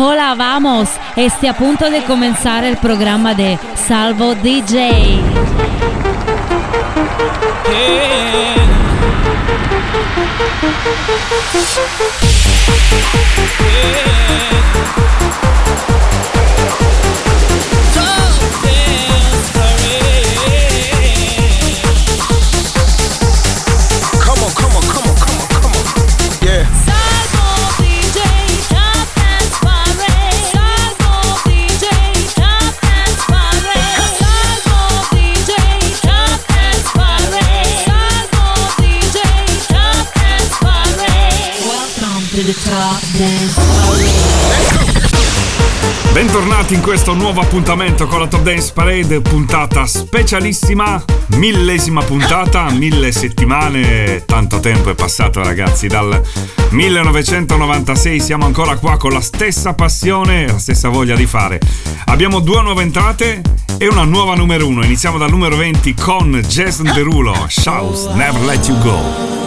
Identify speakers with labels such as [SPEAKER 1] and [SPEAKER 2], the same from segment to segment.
[SPEAKER 1] Hola, vamos. Esté a punto de comenzar el programa de Salvo DJ.
[SPEAKER 2] Bentornati in questo nuovo appuntamento con la Top Dance Parade, puntata specialissima, 1000ª puntata, 1000 settimane, tanto tempo è passato ragazzi, dal 1996 siamo ancora qua con la stessa passione e la stessa voglia di fare. Abbiamo 2 nuove entrate e una nuova numero 1, iniziamo dal numero 20 con Jason Derulo, Shout, Never Let You Go.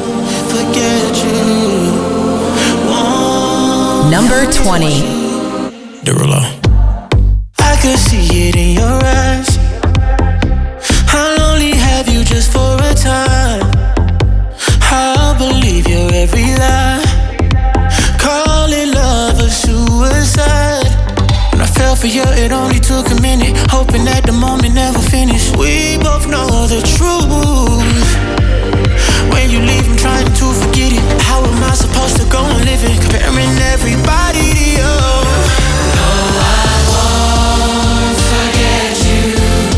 [SPEAKER 3] Number 20.
[SPEAKER 4] Derulo. I could see it in your eyes. I'll only have you just for a time. I'll believe your every lie. Call it love or suicide. When I fell for you, it only took a minute. Hoping that the moment never finished. We both know the truth. When you leave, I'm trying to forget it. How am I supposed to go on living? Comparing everybody to you. No, I won't forget you.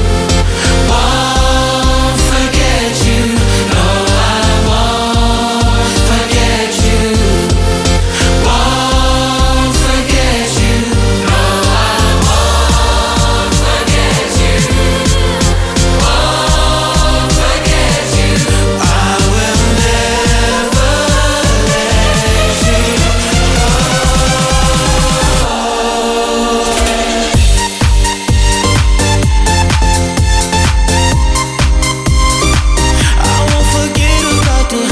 [SPEAKER 4] Won't forget you. No, I won't forget you. Won't forget you. No, I won't forget you. Won't forget you. I will never let you go. I won't forget about the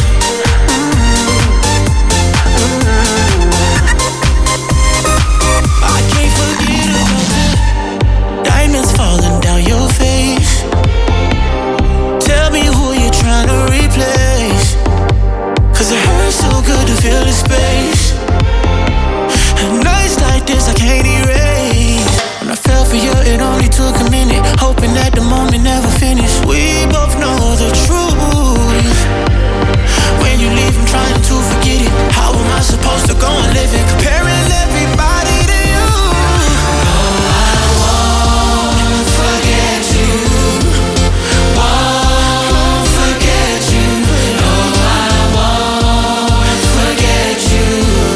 [SPEAKER 4] I can't forget about the diamonds falling down your face. Tell me who you're trying to replace. Cause it hurts so good to feel the space. And nights like this I can't erase. When I fell for you, it only took a minute. Hoping that the moment never finished. We both know the truth. When you leave, I'm trying to forget it. How am I supposed to go on living? Comparing everybody to you. No, I won't forget you. Won't forget you. No, I won't forget you.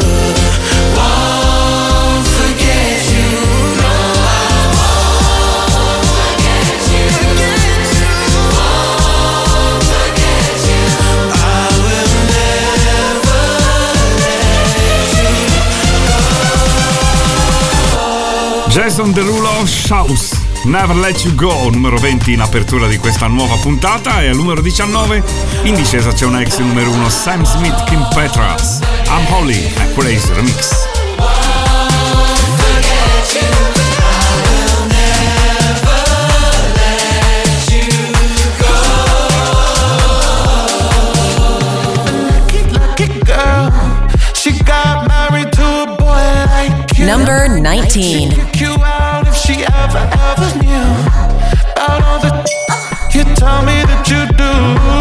[SPEAKER 4] Won't forget you. No, I won't forget you. Won't forget you. I will never let you go.
[SPEAKER 2] Jason Derulo, Shout, Never Let You Go, numero 20 in apertura di questa nuova puntata, e al numero 19 in discesa c'è una ex numero 1, Sam Smith, Kim Petras, I'm Holy, a Crazy Remix.
[SPEAKER 4] Lucky girl, she got married to a boy like you.
[SPEAKER 3] Number 19.
[SPEAKER 4] She'd kick you out if she ever knew about all the you tell me that you do.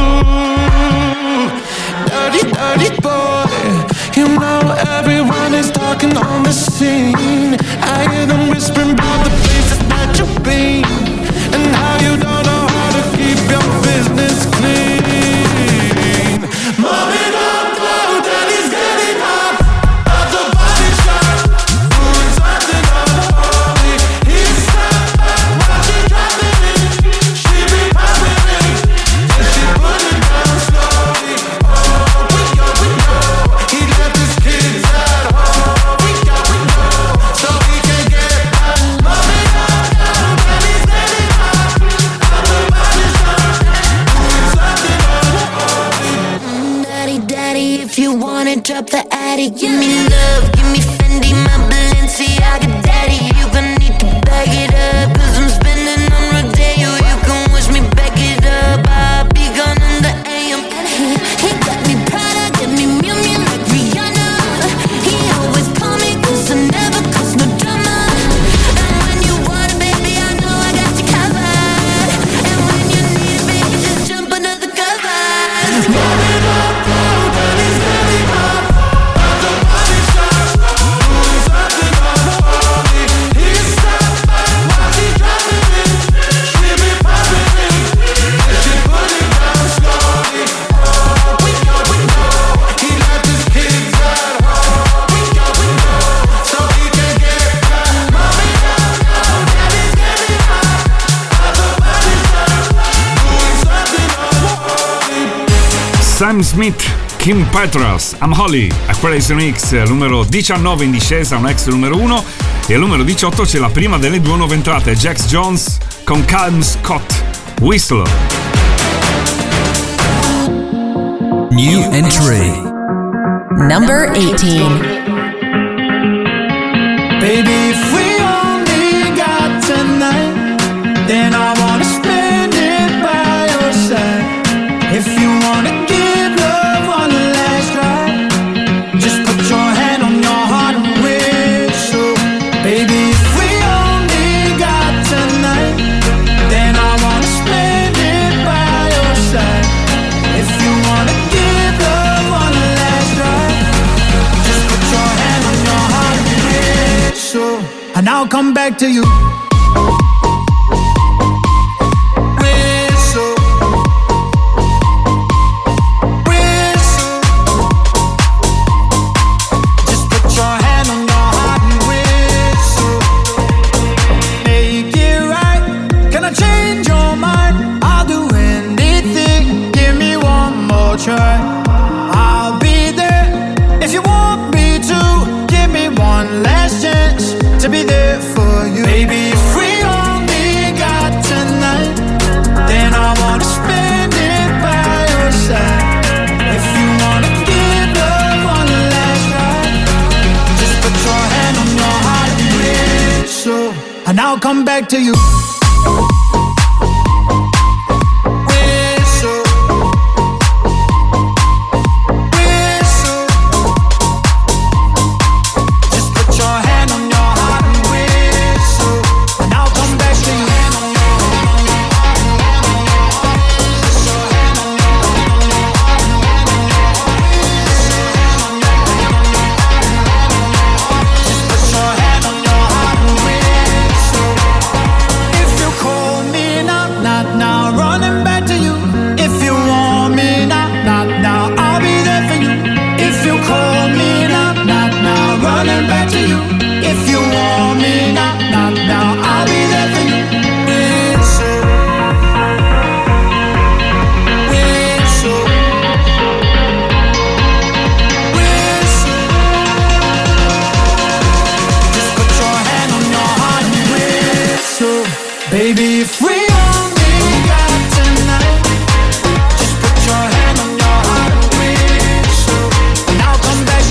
[SPEAKER 4] Dirty, dirty boy, you know everyone is talking on the scene. I hear them whispering about the places that you've been and how you don't know how to keep your business clean. Mommy, don't go, daddy's getting hot at the body shop. Doing something unholy. He's stepped back while she dropped it in. She be popping it, and she put it down slowly. Oh, we know. He left his kids at home. We know, so he can get back. Mommy, don't go, daddy's getting hot at the body shop. Doing something unholy.
[SPEAKER 5] Daddy, if you wanna drop the attic, give me love, give me Fendi, my Balenciaga
[SPEAKER 2] Sam Smith, Kim Petras, I'm Holly, a Crazy Mix, numero 19 in discesa, un ex numero 1, e al numero 18 c'è la prima delle due nuove entrate, Jax Jones con Calum Scott, Whistle.
[SPEAKER 5] New entry.
[SPEAKER 3] Number 18.
[SPEAKER 4] Baby, if we only got tonight, then I wanna spend it by your side. If you wanna give love one last try, just put your hand on your heart and whistle. Baby, if we only got tonight, then I wanna spend it by your side. If you wanna give love one last try, just put your hand on your heart and whistle, and I'll come back to you. I'll be there if you want me to. Give me one last chance to be there for you. Baby, if we only got tonight, then I wanna spend it by your side. If you wanna give love one last ride, just put your hand on your heart and whistle, and I'll come back to you. Baby, if we only got tonight, just put your hand on your heart and whistle, and I'll come back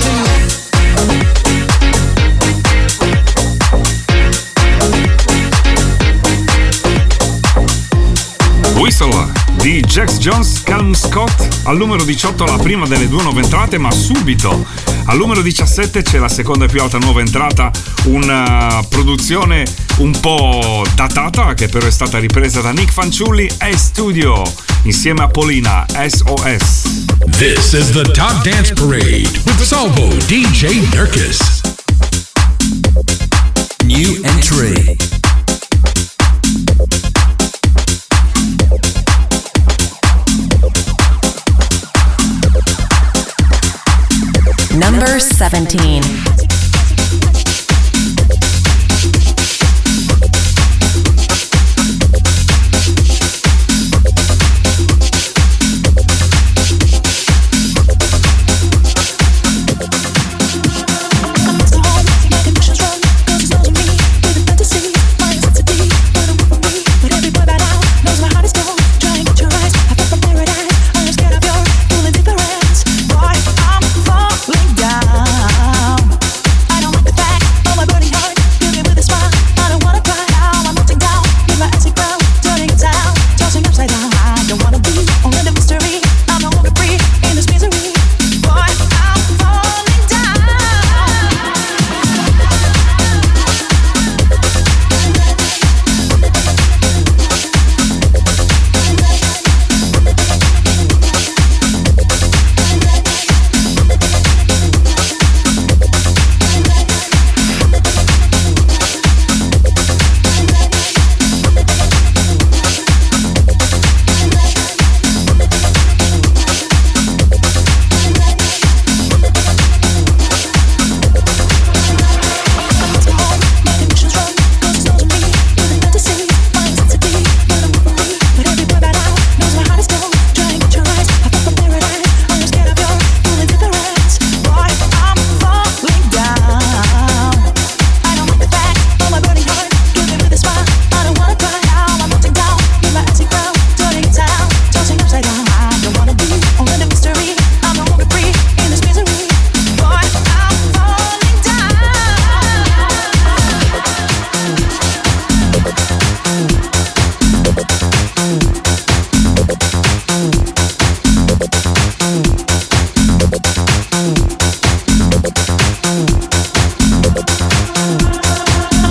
[SPEAKER 4] to you.
[SPEAKER 2] Whistle di Jax Jones, Calum Scott, al numero 18 la prima delle due nuove entrate, ma subito al numero 17 c'è la seconda e più alta nuova entrata, una produzione un po' datata che però è stata ripresa da Nick Fanciulli e Studio insieme a Polina, SOS.
[SPEAKER 5] This is the Top Dance Parade with Salvo DJ Nurkis. New entry.
[SPEAKER 3] Number 17.
[SPEAKER 6] Down.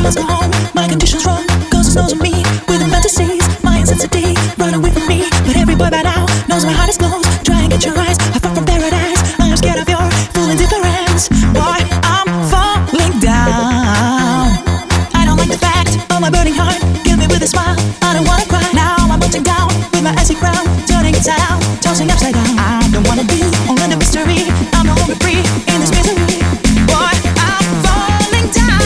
[SPEAKER 6] let's go home. My condition's wrong, cause it knows of me. With the fantasies, my intensity, run away from me. But every boy by now knows my heart is closed. Try and get your eyes, I fall from paradise. I am scared of your full indifference. Boy, I'm falling down. I don't like the fact of my burning heart. Kill me with a smile, I don't wanna cry. Now I'm melting down with my icy crown, turning inside out, tossing upside down. I don't wanna be all in the mystery. I'm no longer free in this misery. Boy, I'm falling down.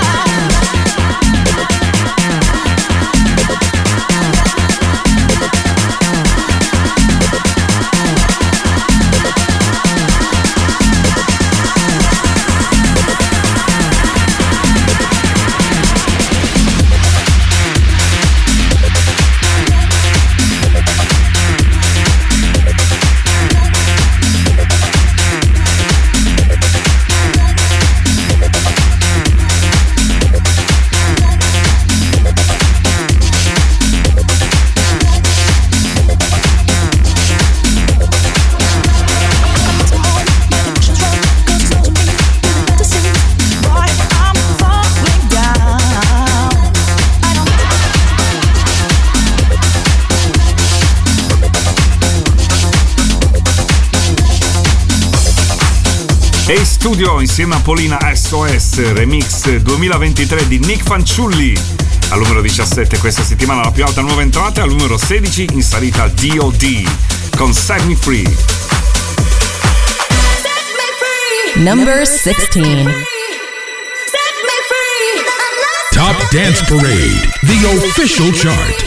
[SPEAKER 2] E studio insieme a Polina SOS, remix 2023 di Nick Fanciulli. Al numero 17 questa settimana la più alta nuova entrata, al numero 16 in salita D.O.D. con Set Me Free.
[SPEAKER 3] Number 16.
[SPEAKER 5] Top Dance Parade, the official chart.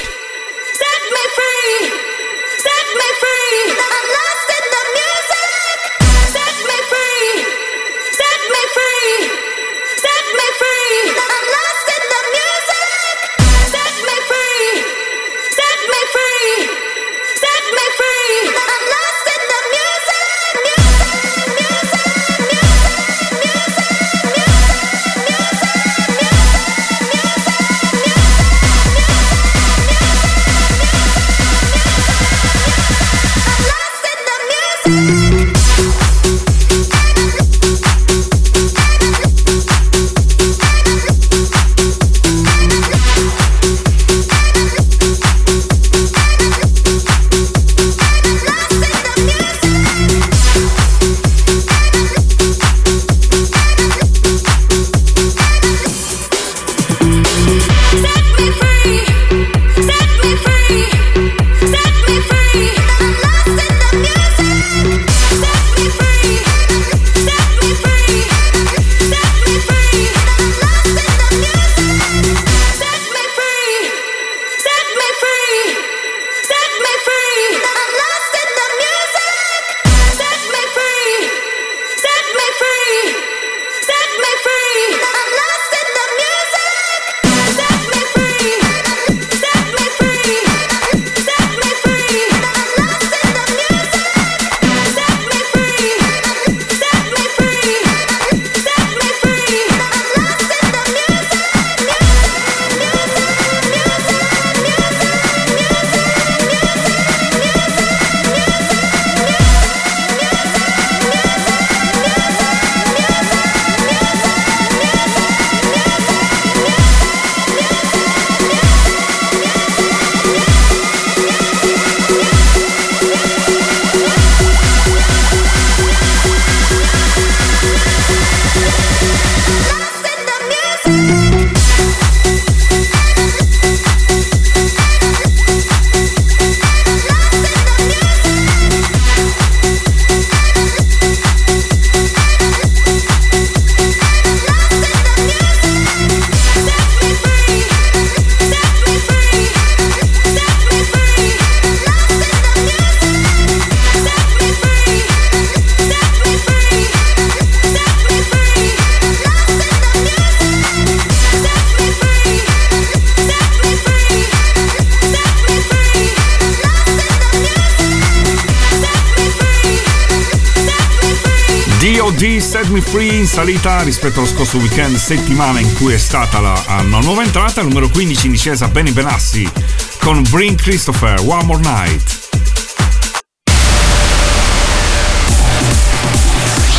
[SPEAKER 2] D.O.D. Set Me Free in salita rispetto allo scorso weekend, settimana in cui è stata una nuova entrata. Al numero 15 in discesa Benny Benassi con Bring Christopher, One More Night.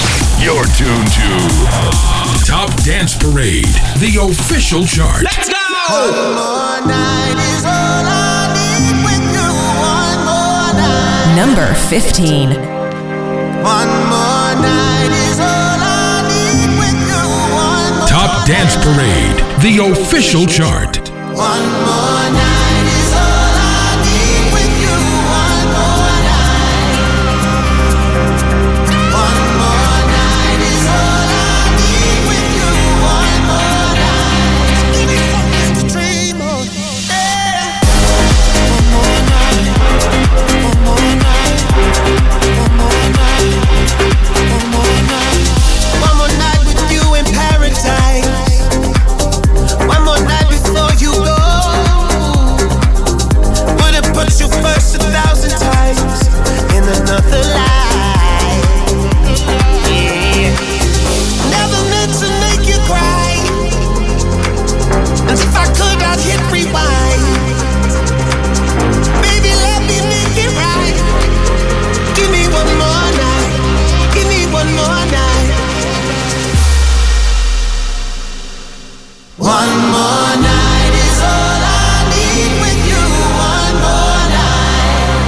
[SPEAKER 5] You're tuned to Top Dance Parade, the official chart.
[SPEAKER 4] Let's go! One more night is all I need with you. One more night.
[SPEAKER 3] Number 15.
[SPEAKER 4] One more night is all I need with you. One more
[SPEAKER 5] Top Dance Parade, the official chart.
[SPEAKER 4] One more night is all I need with you. One more night. One more night is all I need with you. One more night. Give me something to dream on. Yeah. One more night. One more night. One more night. One more night. One more night with you in paradise. One more night before you go. Would've put you first 1,000 times in another life. Yeah. Never meant to make you cry. And if I could, I'd hit rewind. Baby, let me make it right. Give me one more night. Give me one more night. One more night is all I need with you. One more night.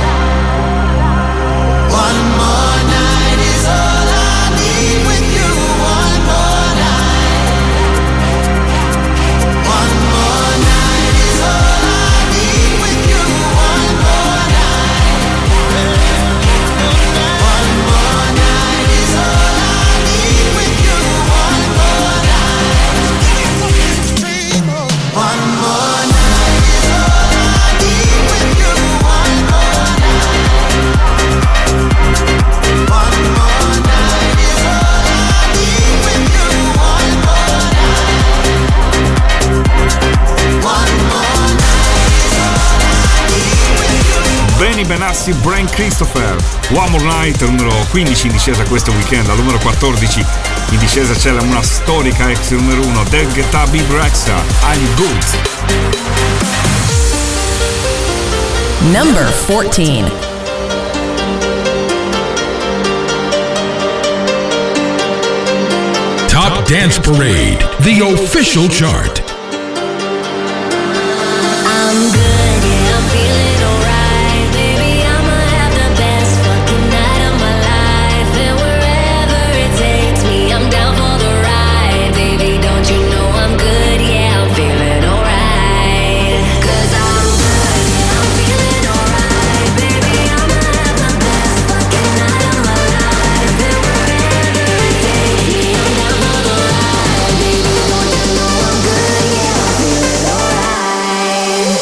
[SPEAKER 4] One more night is all I need with you. One more night. One more night is all I need with you. One more night. One more night is all I need with you. One more night. One more night is all I need with you. One more night. One more night is all I need with you. One more night. One more night is all I need with you.
[SPEAKER 2] Benny Benassi, Brian Christopher. One More Night, numero 15 in discesa questo weekend. Al numero 14 in discesa c'è una storica ex numero 1, David Guetta, Big Rexha, I'm Good.
[SPEAKER 3] Number 14.
[SPEAKER 5] Top Dance Parade, the official chart.
[SPEAKER 7] I'm good, yeah, I'm feeling alright. Baby, I'ma have the best fucking night of my life. And wherever it takes me, I'm down for the ride. Baby, don't you know I'm good, yeah, I'm feeling alright. 'Cause I'm good, yeah, I'm feeling alright. Baby, I'ma have the best fucking night of my life. And wherever it takes me, I'm down for the ride. Baby, don't you know I'm good, yeah, I'm feeling alright.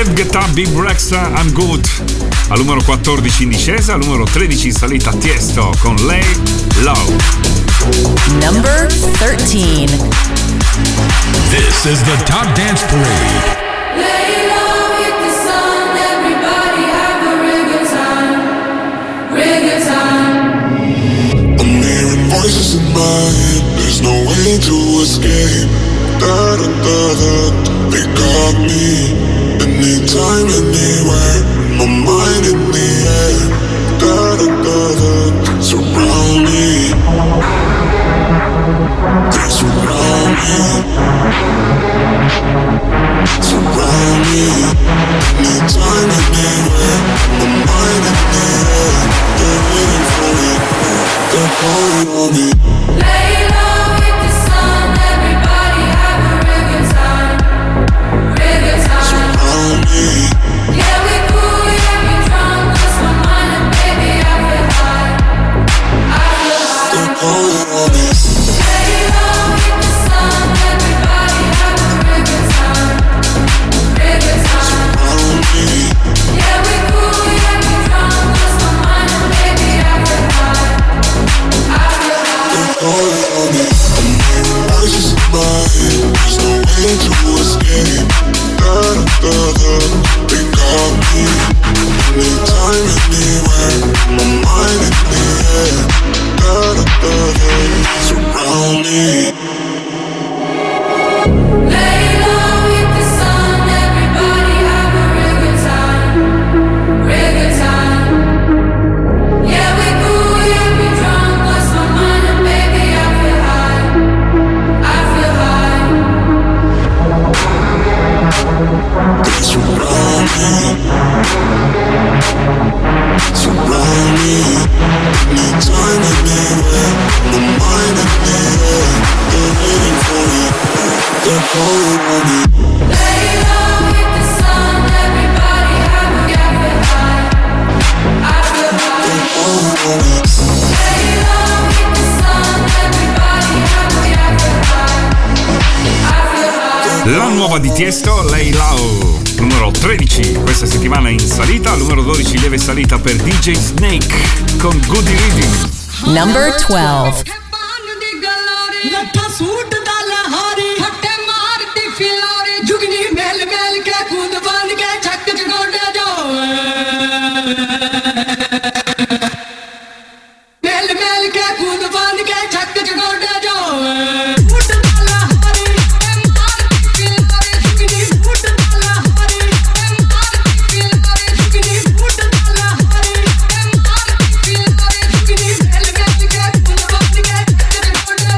[SPEAKER 2] David Guetta, Big Rexa, I'm Good. Al numero 14 in discesa, al numero 13 in salita Tiesto con Lay Low.
[SPEAKER 3] Number 13.
[SPEAKER 5] This is the Top Dance Parade.
[SPEAKER 8] Lay low with the sun, everybody have a real good time, real good time.
[SPEAKER 4] I'm hearing voices in my head, there's no way to escape. Da da da da, they got me. Anytime, anywhere, my mind in the air. Da da da da, surround me. They surround me. Surround me. Anytime, anywhere, my mind in the air. They're waiting for me. They're calling on me.
[SPEAKER 8] Lay low with the sun, everybody have a real good time, real good time.
[SPEAKER 4] Surround me.
[SPEAKER 8] Yeah, we cool, yeah, we drunk, lost my mind and baby I feel high, I feel high.
[SPEAKER 4] They're calling on me.
[SPEAKER 8] Lay low with the sun, everybody have a real good time, real good time.
[SPEAKER 4] Surround me.
[SPEAKER 8] Yeah, we cool, yeah, we drunk, lost my mind and baby I feel high, I feel high.
[SPEAKER 4] They're calling on me. I'm hearing voices in my head, there's no way to escape. Da da da da, they got me. Anytime, anywhere, my mind in the air. Da da da da, surround me.
[SPEAKER 8] Lay low with the sun, everybody have a real good time, real good time. Yeah, we cool, yeah, we drunk, lost my mind and baby I feel high, I feel high.
[SPEAKER 4] They surround me. Surround me. Anytime, anywhere, my mind in the air. They're waiting for me. They're calling on me.
[SPEAKER 8] Lay low with the sun, everybody have a I feel high, I feel high.
[SPEAKER 4] They're calling on me.
[SPEAKER 8] Lay low with the sun, everybody have a I feel high, I feel high.
[SPEAKER 2] La nuova di Tiesto, Lay Low, numero 13 questa settimana in salita, al numero 12 lieve salita per DJ Snake con Goody Reading.
[SPEAKER 3] Number 12.
[SPEAKER 6] ਲੱਠਾ ਸੂਟ ਦਾ ਲਹਾਰੀ ਫੱਟੇ ਮਾਰਦੀ ਫਿਲਾਰੀ ਜੁਗਨੀ ਮੇਲ ਮੇਲ ਕੇ ਕੂਦ ਬੰਨ ਕੇ ਛੱਕ ਜਗੋੜੇ ਜੋ ਮੇਲ ਮੇਲ ਕੇ ਕੂਦ ਬੰਨ ਕੇ ਛੱਕ ਜਗੋੜੇ ਜੋ ਸੂਟ ਦਾ ਲਹਾਰੀ ਮਾਰਦੀ ਫਿਲਾਰੀ ਜੁਗਨੀ ਸੂਟ ਦਾ ਲਹਾਰੀ ਮਾਰਦੀ ਫਿਲਾਰੀ ਜੁਗਨੀ ਸੂਟ ਦਾ ਲਹਾਰੀ ਮਾਰਦੀ ਫਿਲਾਰੀ ਜੁਗਨੀ ਮੇਲ ਮੇਲ ਕੇ ਕੂਦ ਬੰਨ ਕੇ ਛੱਕ ਜਗੋੜੇ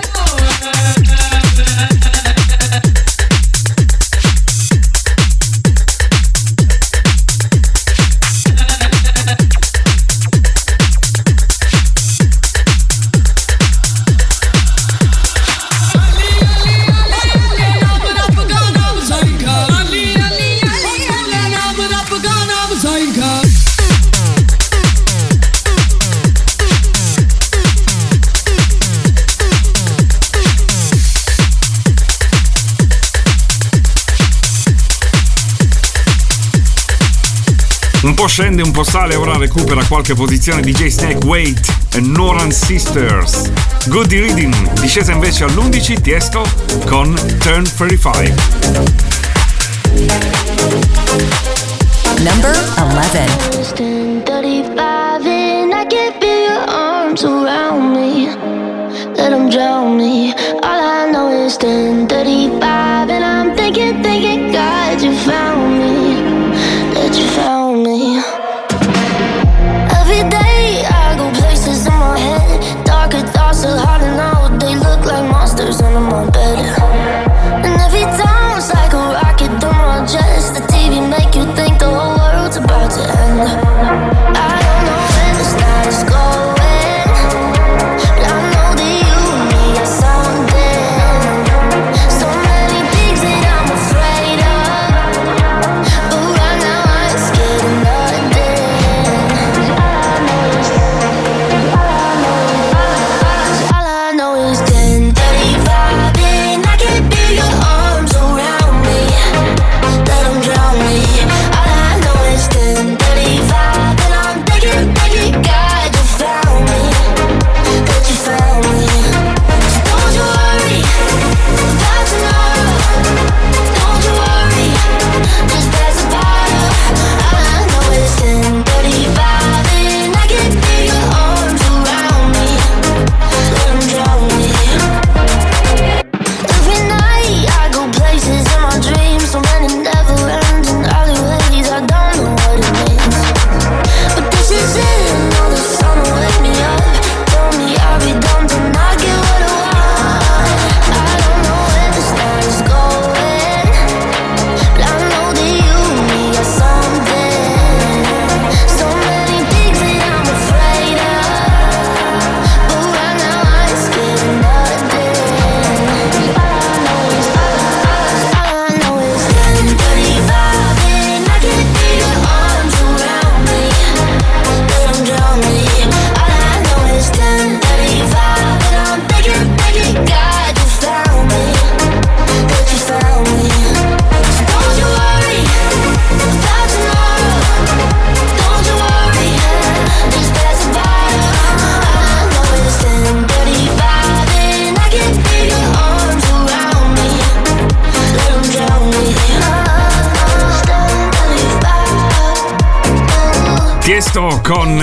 [SPEAKER 2] Un po' scende, un po' sale, ora recupera qualche posizione DJ Snake, Wait e Noran Sisters. Goody Reading, discesa invece all'11, Tiesto con Turn 35.
[SPEAKER 3] Number 11.
[SPEAKER 7] 35 and I can feel your arms around me. Let them drown me. All I know is 10:35 and I'm thinking, God, you found me. That you found me. Every day I go places in my head. Darker thoughts are hard to know. They look like monsters under my bed. And every time it's like a rocket through my chest. The TV make you think the whole world's about to end. I don't know where this night is going, but I know that you and me are something. So many things that I'm afraid of, but right now I ain't scared of nothing. All I know is 10:35 and I
[SPEAKER 2] Tiesto con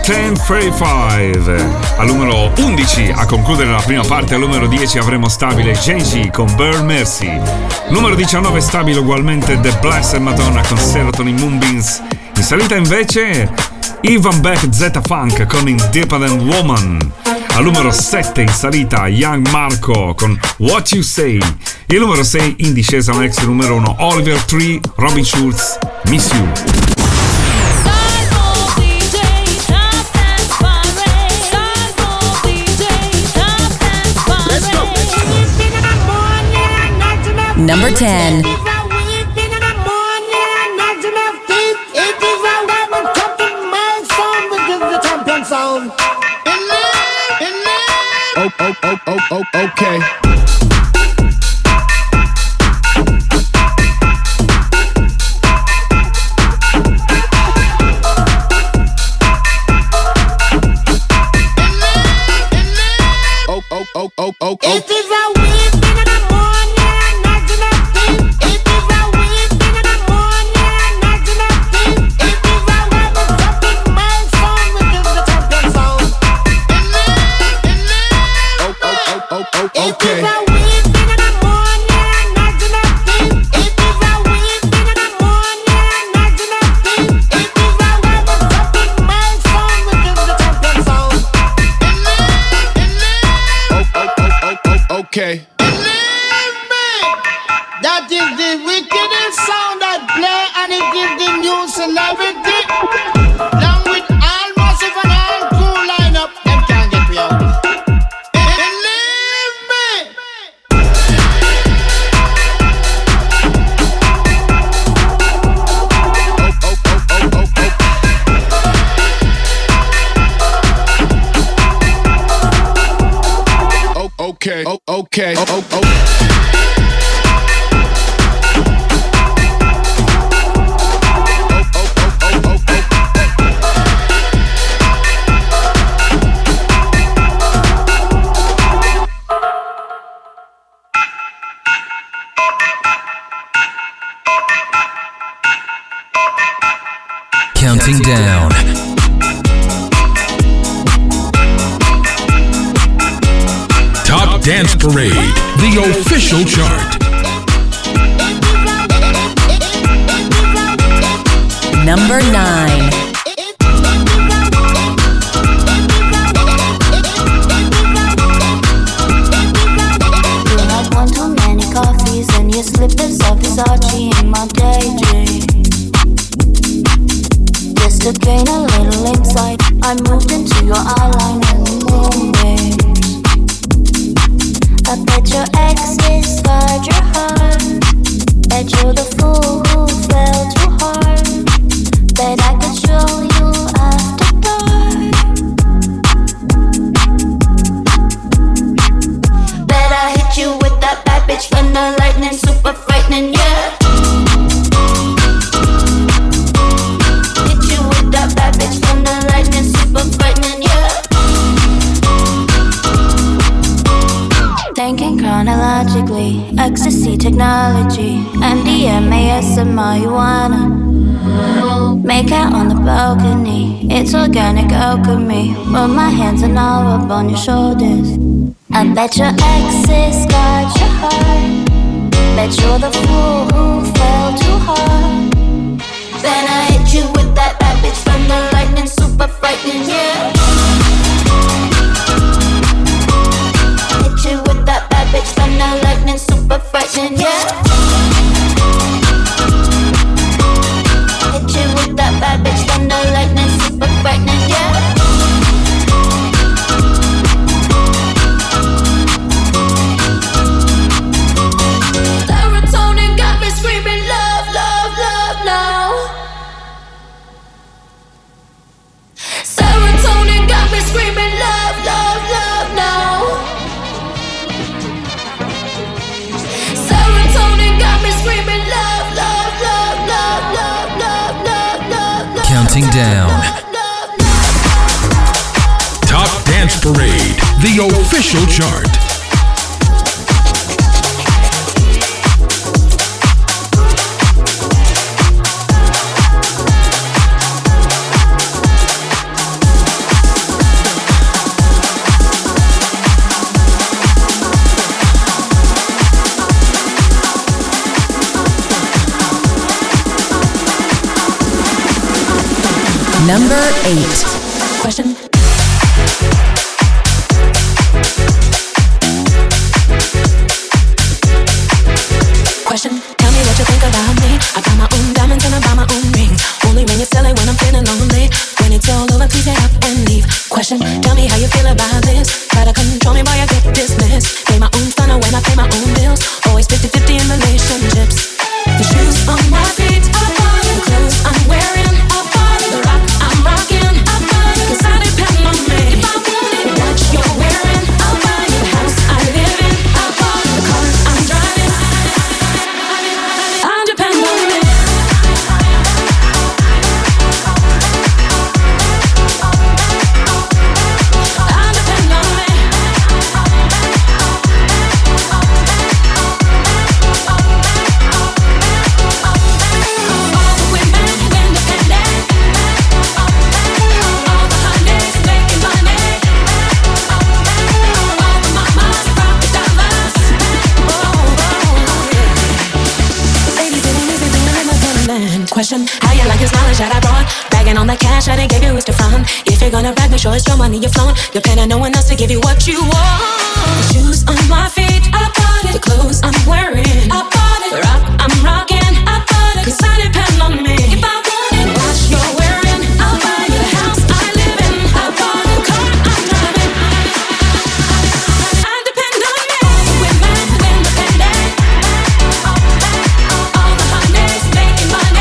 [SPEAKER 2] 1035. Al numero 11 a concludere la prima parte, al numero 10 avremo stabile Genji con Burn Mercy. Numero 19 stabile ugualmente The Blessed Madonna con Serotonin Moonbeams. In salita invece Ivan Beck Z Funk con Independent Woman. Al numero 7 in salita Young Marco con What You Say. E il numero 6 in discesa un ex numero 1 Oliver Tree, Robin Schulz, Miss You.
[SPEAKER 3] Number 10.
[SPEAKER 4] Okay. Okay. Okay.
[SPEAKER 9] That is the wickedest sound that play and it gives the new celebrity. Along with all massive and all cool lineup, them can't get me out. Believe me.
[SPEAKER 4] Okay. Okay.
[SPEAKER 10] Counting down.
[SPEAKER 5] Top Dance Parade, the official chart.
[SPEAKER 3] Number 9.
[SPEAKER 11] You had one too many coffees and your slippers of Versace in my daydream. Just to gain a little insight, I moved into your eyeline and moonbeams. I bet your exes scarred your heart. Bet you're the fool who fell too hard. Bet I could show you after dark. Bet I hit you with that bad bitch thunder lightning, super frightening, yeah. Hit you with that bad bitch thunder lightning, super frightening, yeah. Thinking chronologically, ecstasy technology, MDMA, and marijuana. Make out on the balcony, it's organic alchemy. Put my hands and all up on your shoulders. I bet your exes scarred your heart. Bet you're the fool who fell too hard. Then I hit you with that bad bitch from the lightning, super frightening, yeah. Hit you with that bad bitch from the lightning, super frightening, yeah. Hit you with that bad bitch from the lightning, super frightening, yeah. Serotonin got me screaming love, love, love now. Serotonin got me screaming love, love, love now. Serotonin got me screaming love, love, love, love, love, love, love, love, love.
[SPEAKER 10] Counting down.
[SPEAKER 5] Top Dance Parade, the official chart.
[SPEAKER 3] Number 8.
[SPEAKER 6] Question. Question. Tell me what you think about me. I buy my own diamonds and I buy my own rings. Only ring you sell it when I'm feeling lonely. When it's all over, please get up and leave. Question. Tell me how you feel about this. Try to control me while I get dismissed. Pay my own funnel when I pay my own bills. Always 50-50 in relationships. The shoes on my feet, the clothes I'm wearing, the rock I'm rocking, 'cause I depend on me. What you're wearing, the house I live in, the car I'm driving, I depend on me. I depend on me. Question, how you like this knowledge that I brought? Bagging on the cash I didn't give you is to front. If you're gonna brag, make sure it's your money you're flowing. You're paying no one else to give you what you want. The shoes on my feet, I bought it. The clothes I'm wearing, I bought it. The rock I'm rocking, I bought it. 'Cause I depend on me. If I want it, what you're wearing, I'll buy it. The house I live in, I bought it. The car I'm driving, I depend on me. Women who independent, all the honeys making money.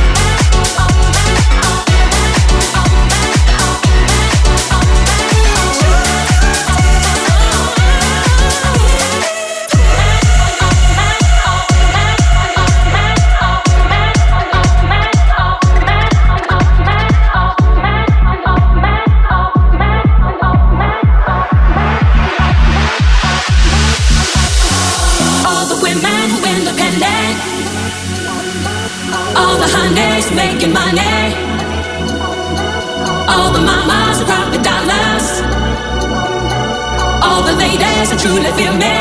[SPEAKER 6] All the women who independent, all the honeys making money, all the mamas who profit dollars, all the ladies who truly feel me.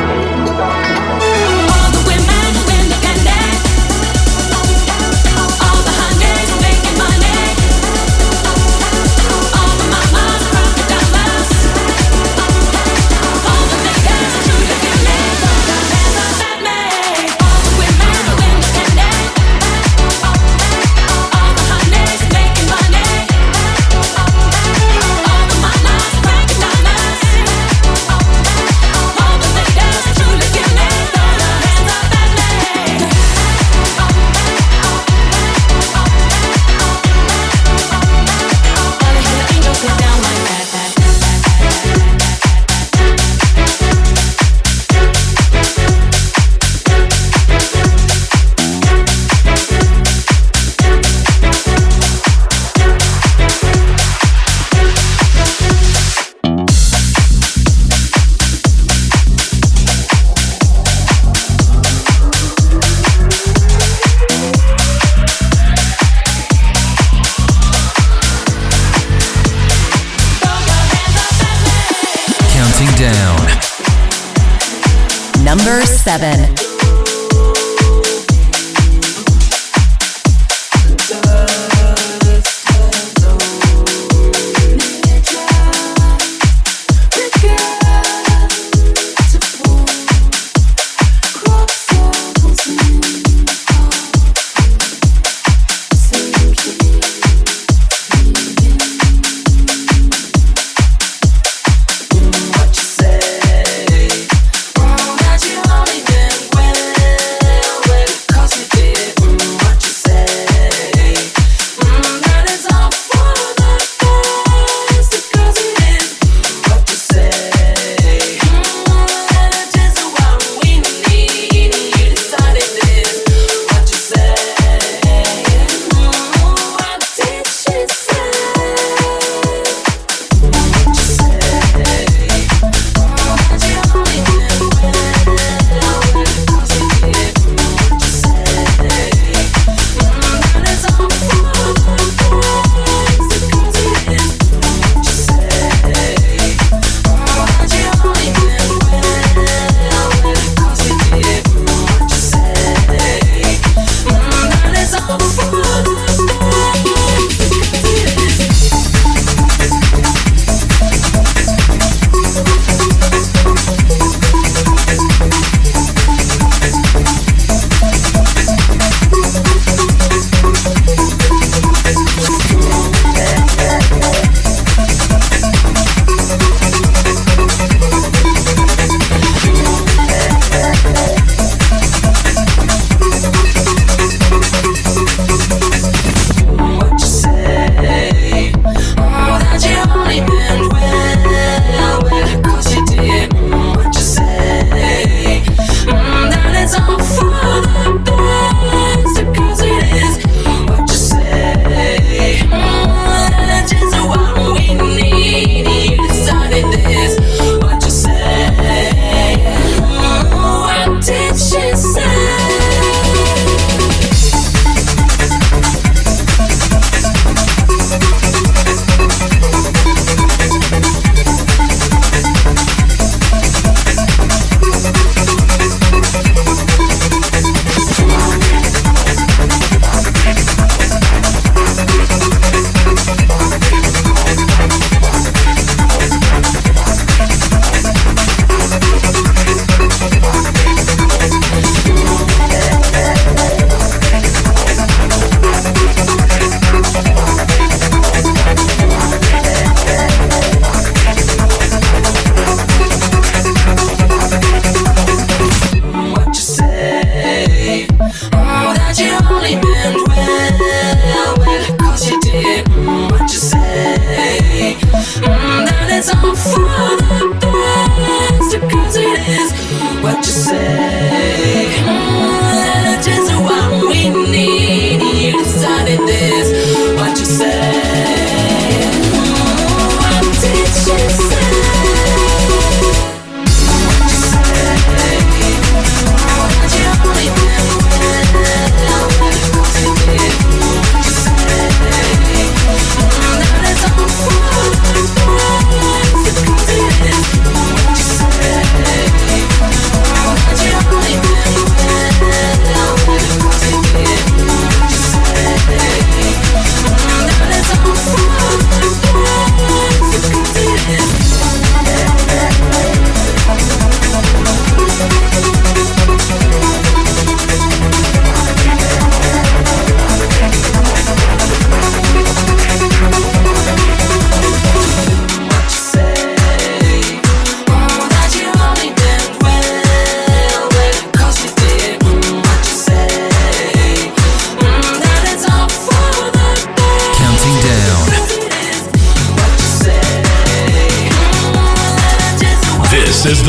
[SPEAKER 6] All the women who independent, all the honeys making money, all the mamas who profit dollars, all the ladies who truly feel me. All the women who independent, all the honeys making money, all the mamas who profit dollars, all the ladies who truly feel me. Throw your hands up at me. Wanna hear the angels get down like that.
[SPEAKER 10] Counting down.
[SPEAKER 3] Number 7.
[SPEAKER 6] That you only been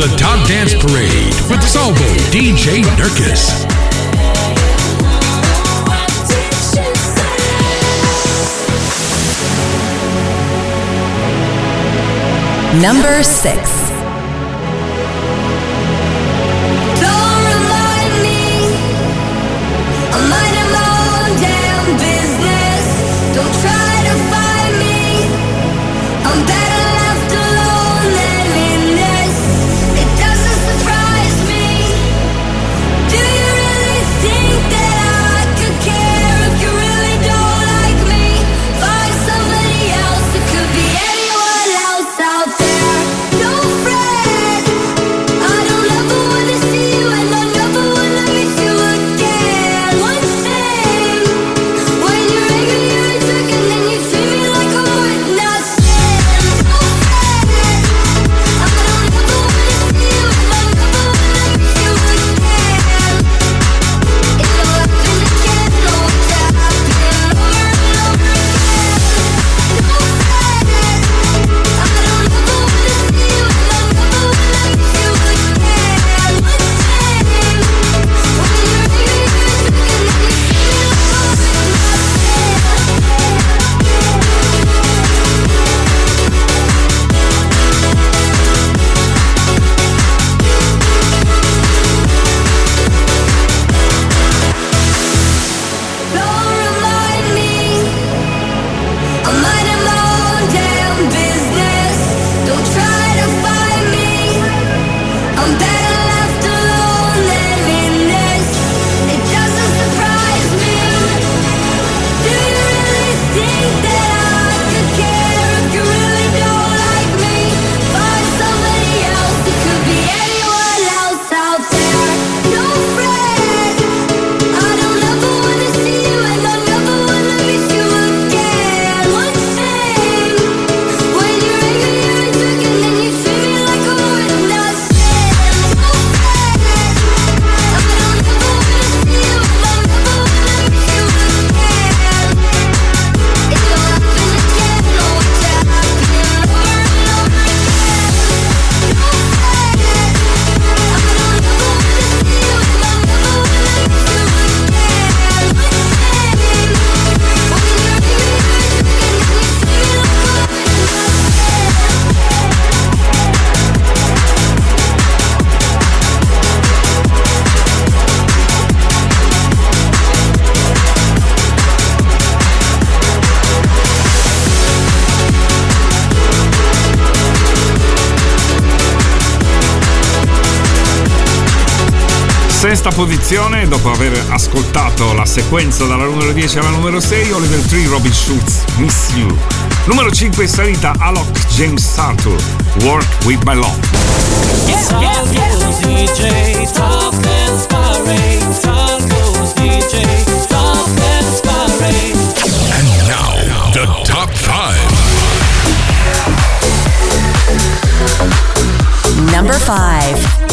[SPEAKER 5] The Top Dance Parade with Salvo DJ Nurkis.
[SPEAKER 3] Number 6.
[SPEAKER 2] Sesta posizione, dopo aver ascoltato la sequenza dalla numero 10 alla numero 6, Oliver Tree, Robin Schulz, Miss You. Numero 5 in salita, Alok, James Arthur, Work With My Love.
[SPEAKER 12] DJ, Top Dance Parade, DJ, Top Dance Parade.
[SPEAKER 5] And now, the top 5.
[SPEAKER 3] Number 5.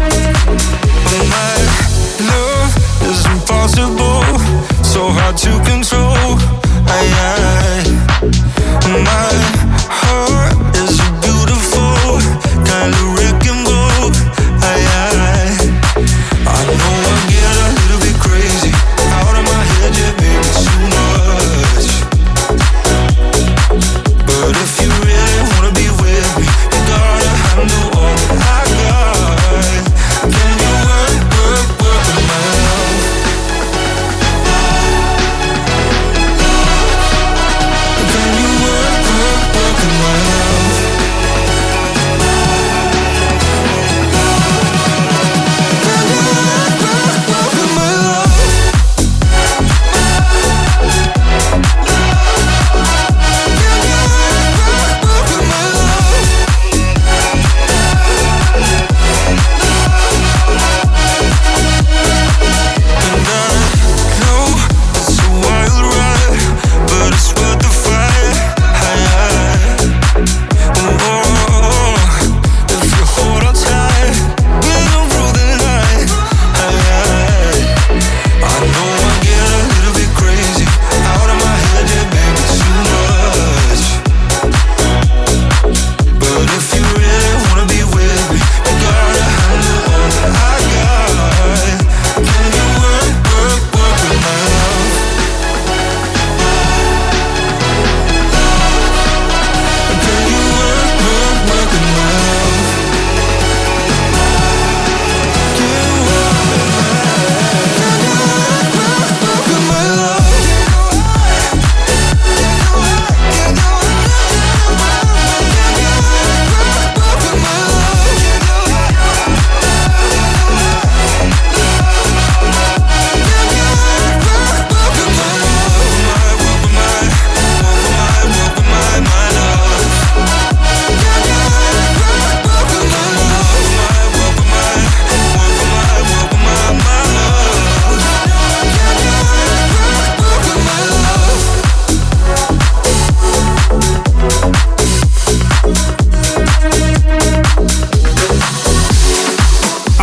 [SPEAKER 4] My love is impossible, so hard to control. My heart is a beautiful kind of wrecking ball.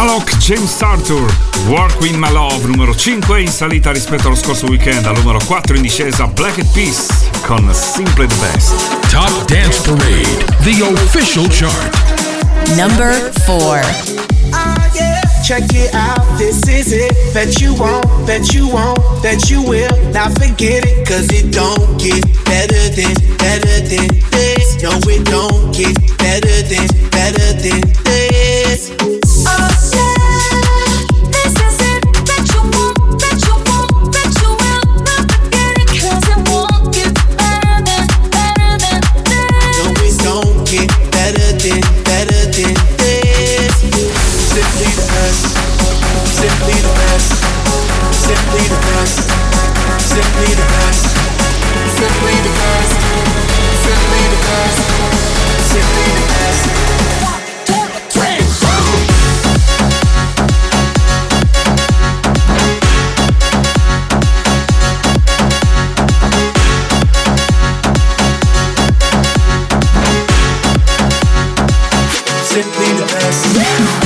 [SPEAKER 2] Alok, James Arthur, Work With My Love, numero 5 in salita rispetto allo scorso weekend, al numero 4 in discesa Black Eyed Peas con Simply the Best.
[SPEAKER 5] Top Dance Parade, the official chart.
[SPEAKER 3] Number 4.
[SPEAKER 13] Check it out, this is it. Bet you won't, bet you won't, bet you will. Now forget it, cause it don't get better than this. No, it don't get better than this.
[SPEAKER 6] Oh yeah, this is it. Bet you won't, bet you won't, bet you will. Now forget it, cause it won't get better than this.
[SPEAKER 13] No, it don't get better than this. Simply the best, simply the best, simply the best, simply the best, simply the best, simply the best, simply the best. 1, 2, 3, 4. Simply the best.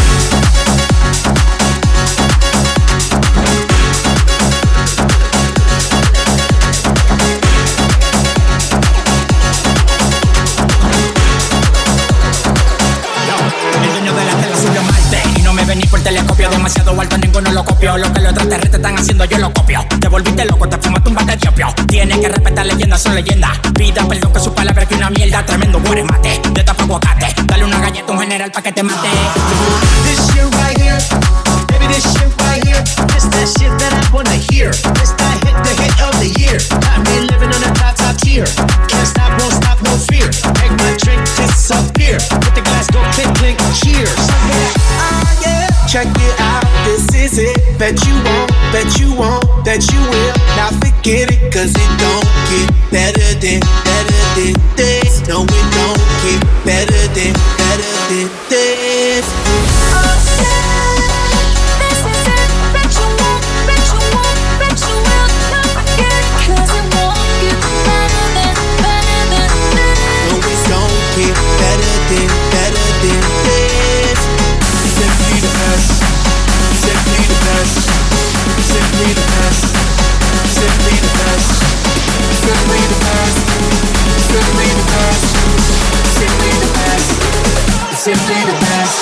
[SPEAKER 14] Por telescopio demasiado alto, ninguno lo copió. Lo que los extraterrestres están haciendo yo lo copio. Te volviste loco, te fumaste un bate de opio. Tienes que respetar leyendas, son leyendas. Pida perdón que su palabra que una mierda. Tremendo mate, de tapa aguacate. Dale una galleta a un general pa' que te mate.
[SPEAKER 13] This shit right here, baby, this shit right here. This that shit that I wanna hear. This that hit, the hit of the year. Got me living on a top tier. Can't stop, won't stop, no fear. Make my drink disappear. With the glass go clink, clink, cheers. Oh yeah, check it out, this is it. Bet you won't, bet you won't, bet you will. Now forget it, cause it don't get better than this. No, it don't get better than this.
[SPEAKER 6] Oh yeah, this is it. Bet you won't, bet you won't, bet you will. Now forget it, cause it won't get better than this.
[SPEAKER 13] No, it don't get better than this. Simply the best, simply the best, simply the best, simply the best, simply the best, simply the best, simply the best, simply the best.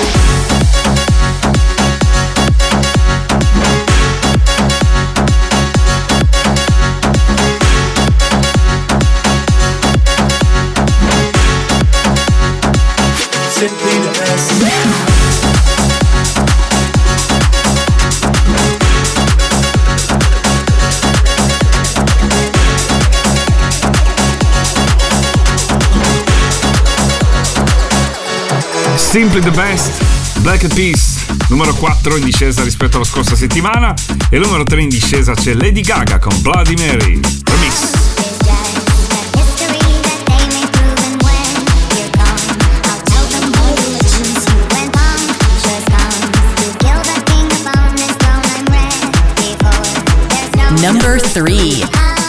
[SPEAKER 13] Simply the best.
[SPEAKER 2] Simply the Best, Black Eyed Peas, numero 4 in discesa rispetto alla scorsa settimana, e numero 3 in discesa c'è Lady Gaga con Bloody Mary, remix.
[SPEAKER 3] Number 3.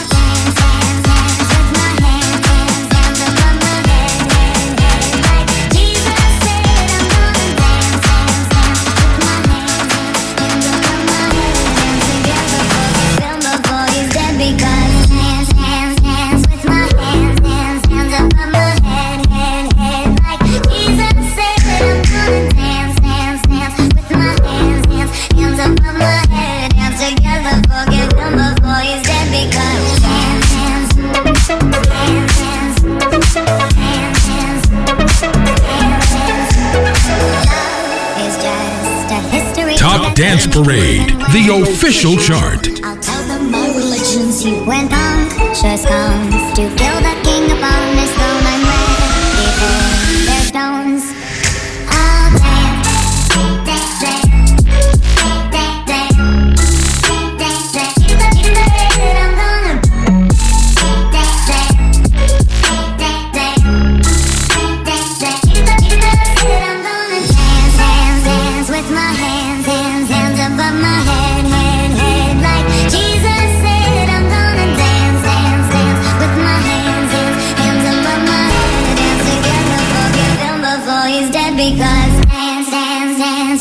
[SPEAKER 5] Top Dance Parade, the official chart.
[SPEAKER 11] I'll tell them my religion's you went unconscious comes to kill the king upon this throne. I'm ready for their stones. I'll dance, dance, dance, dance, dance, dance, dance, dance. You said I'm gonna dance, dance, dance, dance, dance, dance. You said I'm gonna dance, dance, dance with my hands, hands, hands above my head, head, head. Like Jesus said, I'm gonna dance, dance, dance with my hands, hands, hands above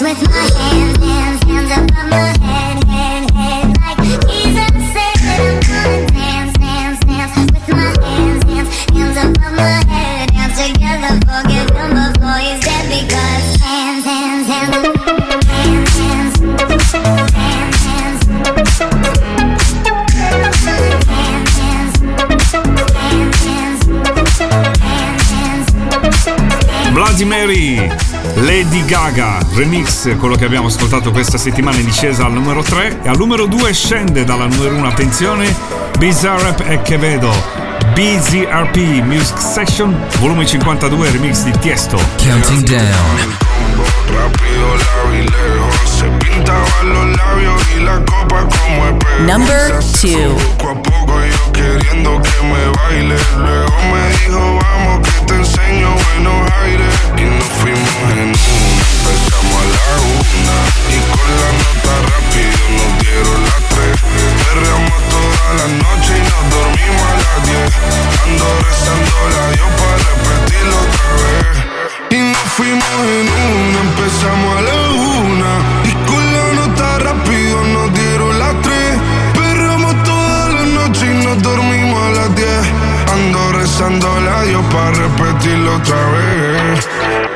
[SPEAKER 11] with my hands, hands, hands above my head, head, head. Like Jesus said, I'm gonna dance, dance, dance with my hands, hands, hands above my head. Dance together, forgive him before he's dead because hands, hands, hands, hands, hands, hands,
[SPEAKER 2] Bloody Mary, Lady Gaga, remix, quello che abbiamo ascoltato questa settimana in discesa al numero 3 e al numero 2 scende dalla numero 1, attenzione, Bizarrap e Quevedo, BZRP Music Session, volume 52, remix di Tiesto.
[SPEAKER 10] Counting down.
[SPEAKER 4] Rápido, largo y lejos, se pintaban los labios y la copa como espejo.
[SPEAKER 3] Number 2.
[SPEAKER 4] Poco a poco yo queriendo que me baile. Luego me dijo, vamos que te enseño buenos aires. Y nos fuimos en una, empezamos a la 1. Y con la nota rápido nos dieron las 3. Perreamos toda la noche y nos dormimos a las 10. Ando rezando la Dios para repetirlo otra vez. Y nos fuimos en una, empezamos a la 1. Y con la nota rápido nos dieron las 3. Perramos toda la noche y nos dormimos a las 10. Ando rezando a Dios para repetirlo otra vez.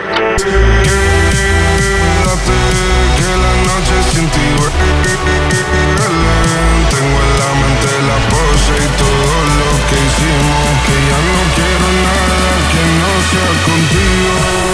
[SPEAKER 4] Quédate, que la noche sin ti duele. Tengo en la mente la pose y todo lo que hicimos. Que ya no quiero nada que no sea contigo.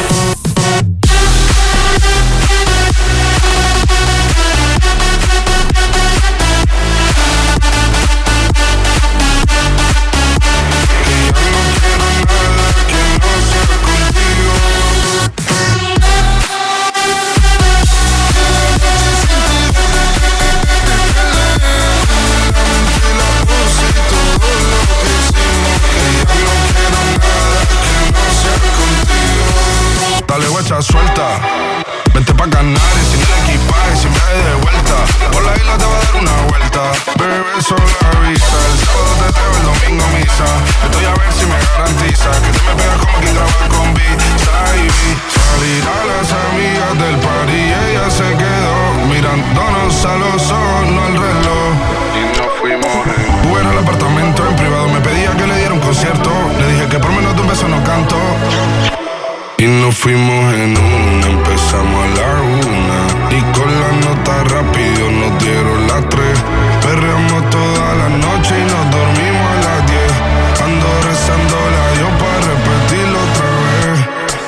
[SPEAKER 4] Suelta, vente pa' Canarias sin el equipaje, sin viaje de vuelta. Por la isla te va a dar una vuelta. Bebé, solo avisa. El sábado te traigo, el domingo misa. Estoy a ver si me garantiza que te me pegas como quien graba con B-Side. Salir a las amigas del party y ella se quedó mirándonos a los ojos, no al reloj. Y nos fuimos fuera al apartamento en privado. Me pedía que le diera un concierto. Le dije que por menos de un beso no canto. Y nos fuimos en una, empezamos a la 1. Y con la nota rápido nos dieron las 3. Perreamos toda la noche y nos dormimos a las 10. Ando rezando la Dios para repetirlo otra vez.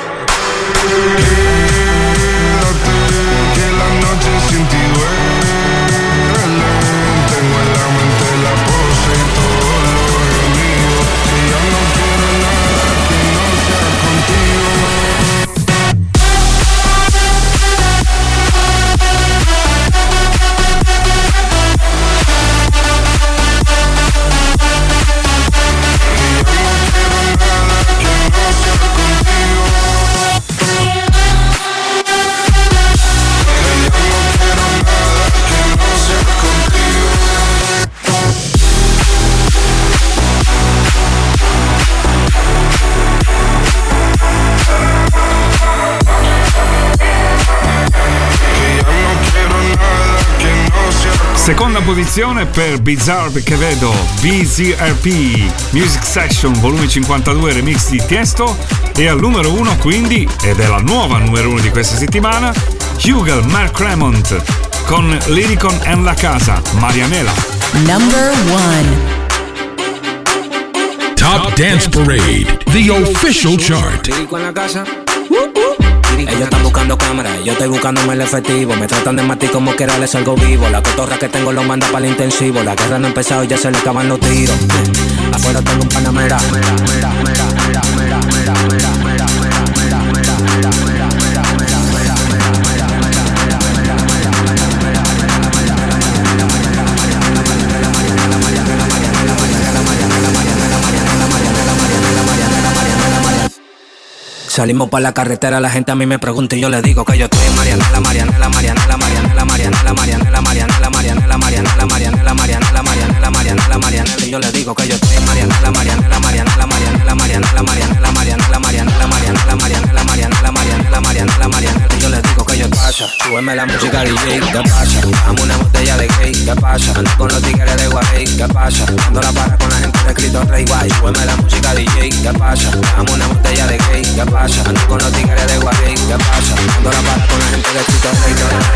[SPEAKER 4] Quédate, que la noche sin ti duele. Tengo en la mente la pose y todo lo gemido. Que ya no quiero nada que no sea contigo.
[SPEAKER 2] Seconda posizione per Bizarre Quevedo, BZRP Music Session volume 52 remix di Tiesto. E al numero 1 quindi, ed è la nuova numero 1 di questa settimana, Hugel Mark Remont con Lyricon and La Casa, Marianela.
[SPEAKER 3] Number 1.
[SPEAKER 5] Top Dance Parade, the official chart.
[SPEAKER 15] Lyricon en la casa. Ellos están buscando cámaras, yo estoy buscándome el efectivo. Me tratan de matar como quiera, les salgo vivo. La cotorra que tengo lo manda para el intensivo. La guerra no ha empezado y ya se le acaban los tiros. Afuera tengo un panamera. Salimos para la carretera, la gente a mí me pregunta y yo le digo que yo estoy en Marianela, Marianela, Marianela, Marianela, Marianela, Marianela, Marianela, Marianela, Marianela, Marianela, Marianela, Marianela, Marianela, Marianela, y yo le digo que yo estoy en Marianela, Marianela, Marianela, Marianela, Marianela, Marianela, Marianela, Marianela, Marianela, Marianela, Marianela, Marianela, Marianela, Marianela, y yo le digo que yo estoy. pasa? Súbeme la música DJ, ¿qué pasa? Dame una botella de gay, ¿qué pasa? Ando con los tigres de Guay, ¿qué pasa? Dando la para con la gente de Cristo Rey, guay. Súbeme la música DJ, ¿qué pasa? Dame una botella de gay, ¿qué pasa? Ando con los tigres de Guay, ¿qué pasa? Dando la para con la gente de Cristo Rey,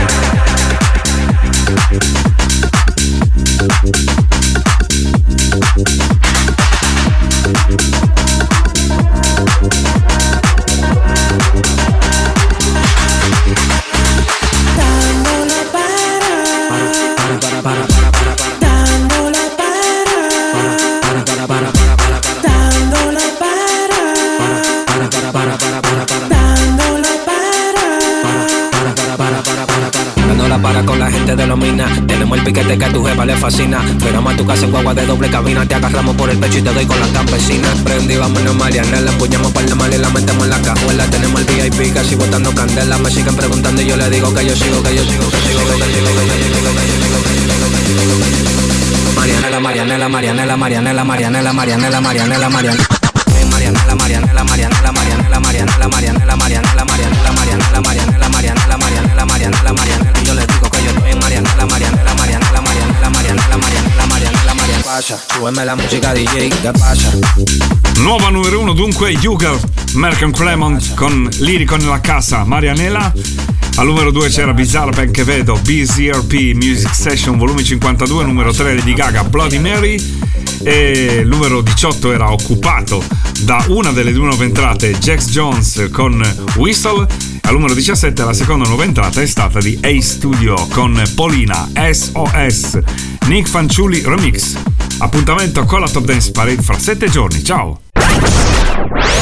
[SPEAKER 15] para con la gente de los minas. Tenemos el piquete que a tu jefa le fascina. Fuéramos a tu casa en guagua de doble cabina. Te agarramos por el pecho y te doy con la campesina. Prendí, vámonos Mariana, la empuñamos par de mal y la metemos en la cajuela. Tenemos el VIP casi botando candela. Me siguen preguntando y yo le digo que yo sigo, que yo sigo, que sigo, que yo sigo, que yo sigo, que yo sigo, que yo sigo, que yo sigo. Marianela, Marianela, Marianela, Marianela, Marianela, Marianela, Marianela, Marianela. Marianela, Marianela, Marianela, Marianela, Marianela, Marianela, Marianela, Marianela, Marianela, Marianela, Marianela, Marianela, Marianela, Marianela. Y yo les digo que yo estoy en Marianela, Marianela, Marianela, Marianela, Marianela, Marianela, Marianela, Marianela. Pasa, súbeme la música DJ, ¿qué pasa?
[SPEAKER 2] Nuova numero 1 dunque Yugal, Malcolm Clement con Lirico nella casa, Marianela. Al numero 2 c'era Bizarre Perché Vedo, BZRP Music Session volume 52, numero 3 Lady Gaga, Bloody Mary. E il numero 18 era occupato da una delle due nuove entrate, Jax Jones con Whistle. Al numero 17 la seconda nuova entrata è stata di A-Studio con Polina, SOS, Nick Fanciulli Remix. Appuntamento con la Top Dance Parade fra 7 giorni, ciao!